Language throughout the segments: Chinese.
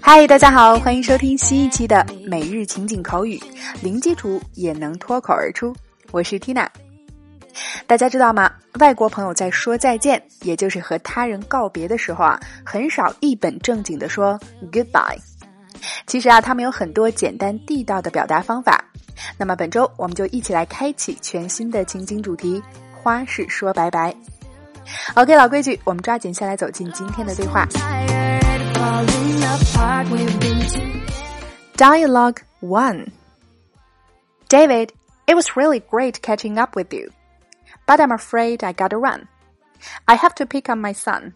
嗨，大家好，欢迎收听新一期的每日情景口语，零基础也能脱口而出。我是 Tina。大家知道吗？外国朋友在说再见，也就是和他人告别的时候很少一本正经地说 goodbye。其实他们有很多简单地道的表达方法。那么本周我们就一起来开启全新的情景主题，花式说拜拜。OK， 老规矩，我们抓紧下来走进今天的对话。Dialogue 1. David, it was really great catching up with you, but I'm afraid I gotta run. I have to pick up my son.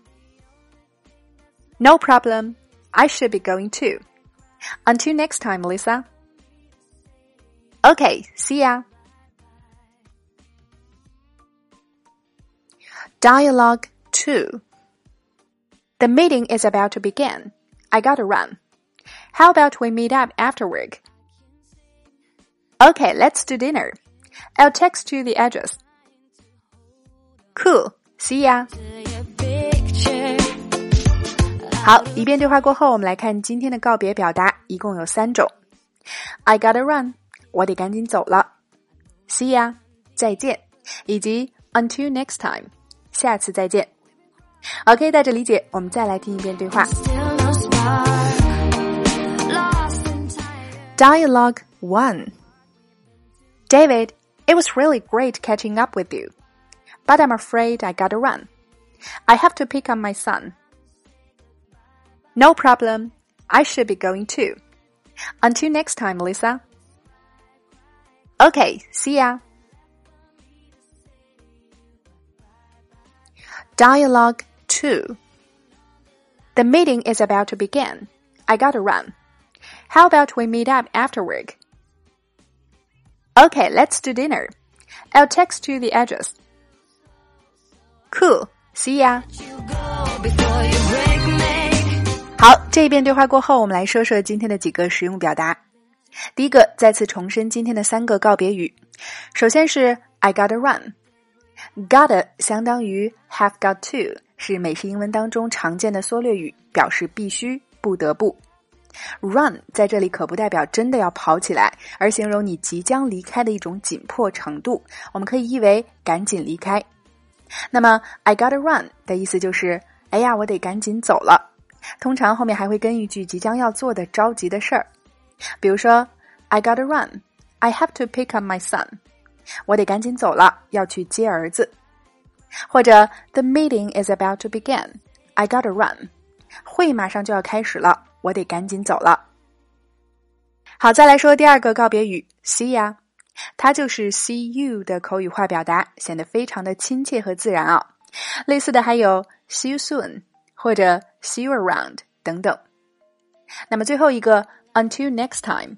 No problem. I should be going too. Until next time, Lisa. Okay, see ya. Dialogue 2. The meeting is about to begin. I gotta run. How about we meet up after work? Okay, let's do dinner. I'll text you the address. Cool. See ya. 好，一遍对话过后，我们来看今天的告别表达，一共有3种。I gotta run， 我得赶紧走了。See ya， 再见，以及 until next time， 下次再见。OK， 带着理解，我们再来听一遍对话。Dialogue 1. David, it was really great catching up with you, but I'm afraid I gotta run. I have to pick up my son. No problem. I should be going too. Until next time, Lisa. Okay, see ya. Dialogue 2. The meeting is about to begin. I gotta run. How about we meet up after work? Okay, let's do dinner. I'll text you the address. Cool. See ya. 好，这一遍对话过后，我们来说说今天的几个实用表达。第一个，再次重申今天的3个告别语。首先是 I gotta run。Gotta 相当于 have got to， 是美式英文当中常见的缩略语，表示必须、不得不。Run 在这里可不代表真的要跑起来，而形容你即将离开的一种紧迫程度，我们可以译为赶紧离开。那么 I gotta run 的意思就是哎呀，我得赶紧走了。通常后面还会跟一句即将要做的着急的事儿，比如说 I gotta run, I have to pick up my son， 我得赶紧走了，要去接儿子。或者 The meeting is about to begin, I gotta run， 会马上就要开始了，我得赶紧走了。好，再来说第2个告别语 See ya， 它就是 see you 的口语化表达，显得非常的亲切和自然啊。类似的还有 see you soon 或者 see you around 等等。那么最后一个 until next time，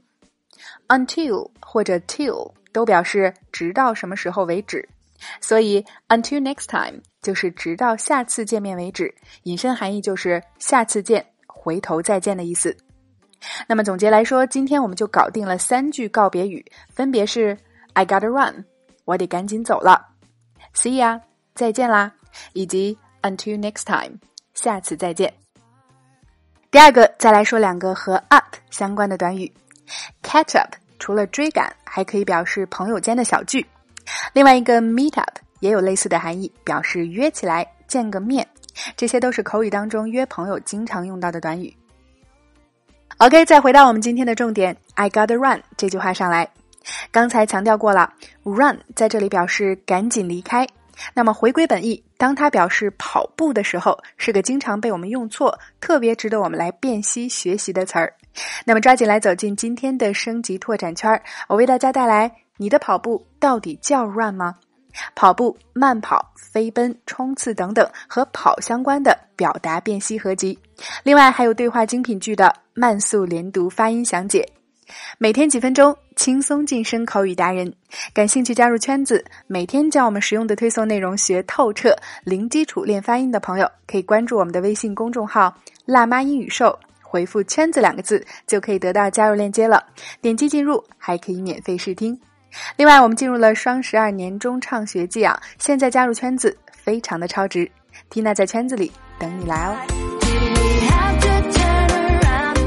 until 或者 till 都表示直到什么时候为止，所以 until next time 就是直到下次见面为止，引申含义就是下次见，回头再见的意思。那么总结来说，今天我们就搞定了3句告别语，分别是 I gotta run， 我得赶紧走了， See ya， 再见啦，以及 until next time， 下次再见。第2个，再来说2个和 up 相关的短语。 Catch up 除了追赶，还可以表示朋友间的小聚。另外一个 meet up 也有类似的含义，表示约起来见个面。这些都是口语当中约朋友经常用到的短语。OK， 再回到我们今天的重点 I gotta run 这句话上来。刚才强调过了， run 在这里表示赶紧离开。那么回归本意，当它表示跑步的时候，是个经常被我们用错，特别值得我们来辨析学习的词儿。那么抓紧来走进今天的升级拓展圈，我为大家带来你的跑步到底叫 run 吗？跑步、慢跑、飞奔、冲刺等等和跑相关的表达辨析合集。另外还有对话精品剧的慢速连读发音详解。每天几分钟，轻松晋升口语达人。感兴趣加入圈子，每天将我们实用的推送内容学透彻，零基础练发音的朋友，可以关注我们的微信公众号辣妈英语秀，回复圈子2个字就可以得到加入链接了，点击进入还可以免费试听。另外我们进入了双12年中畅学季啊，现在加入圈子非常的超值，Tina在圈子里等你来哦。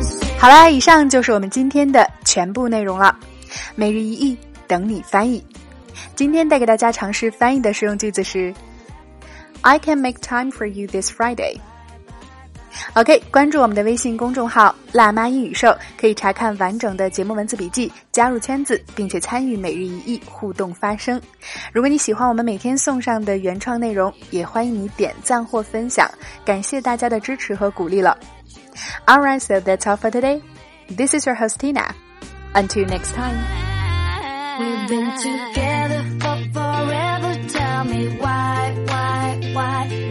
好啦，以上就是我们今天的全部内容了。每日一译，等你翻译。今天带给大家尝试翻译的实用句子是 I can make time for you this Friday。OK， 关注我们的微信公众号辣妈英语秀，可以查看完整的节目文字笔记，加入圈子，并且参与每日一译互动发声。如果你喜欢我们每天送上的原创内容，也欢迎你点赞或分享，感谢大家的支持和鼓励了。Alright, so that's all for today. This is your host Tina. Until next time. We've been together for forever. Tell me why?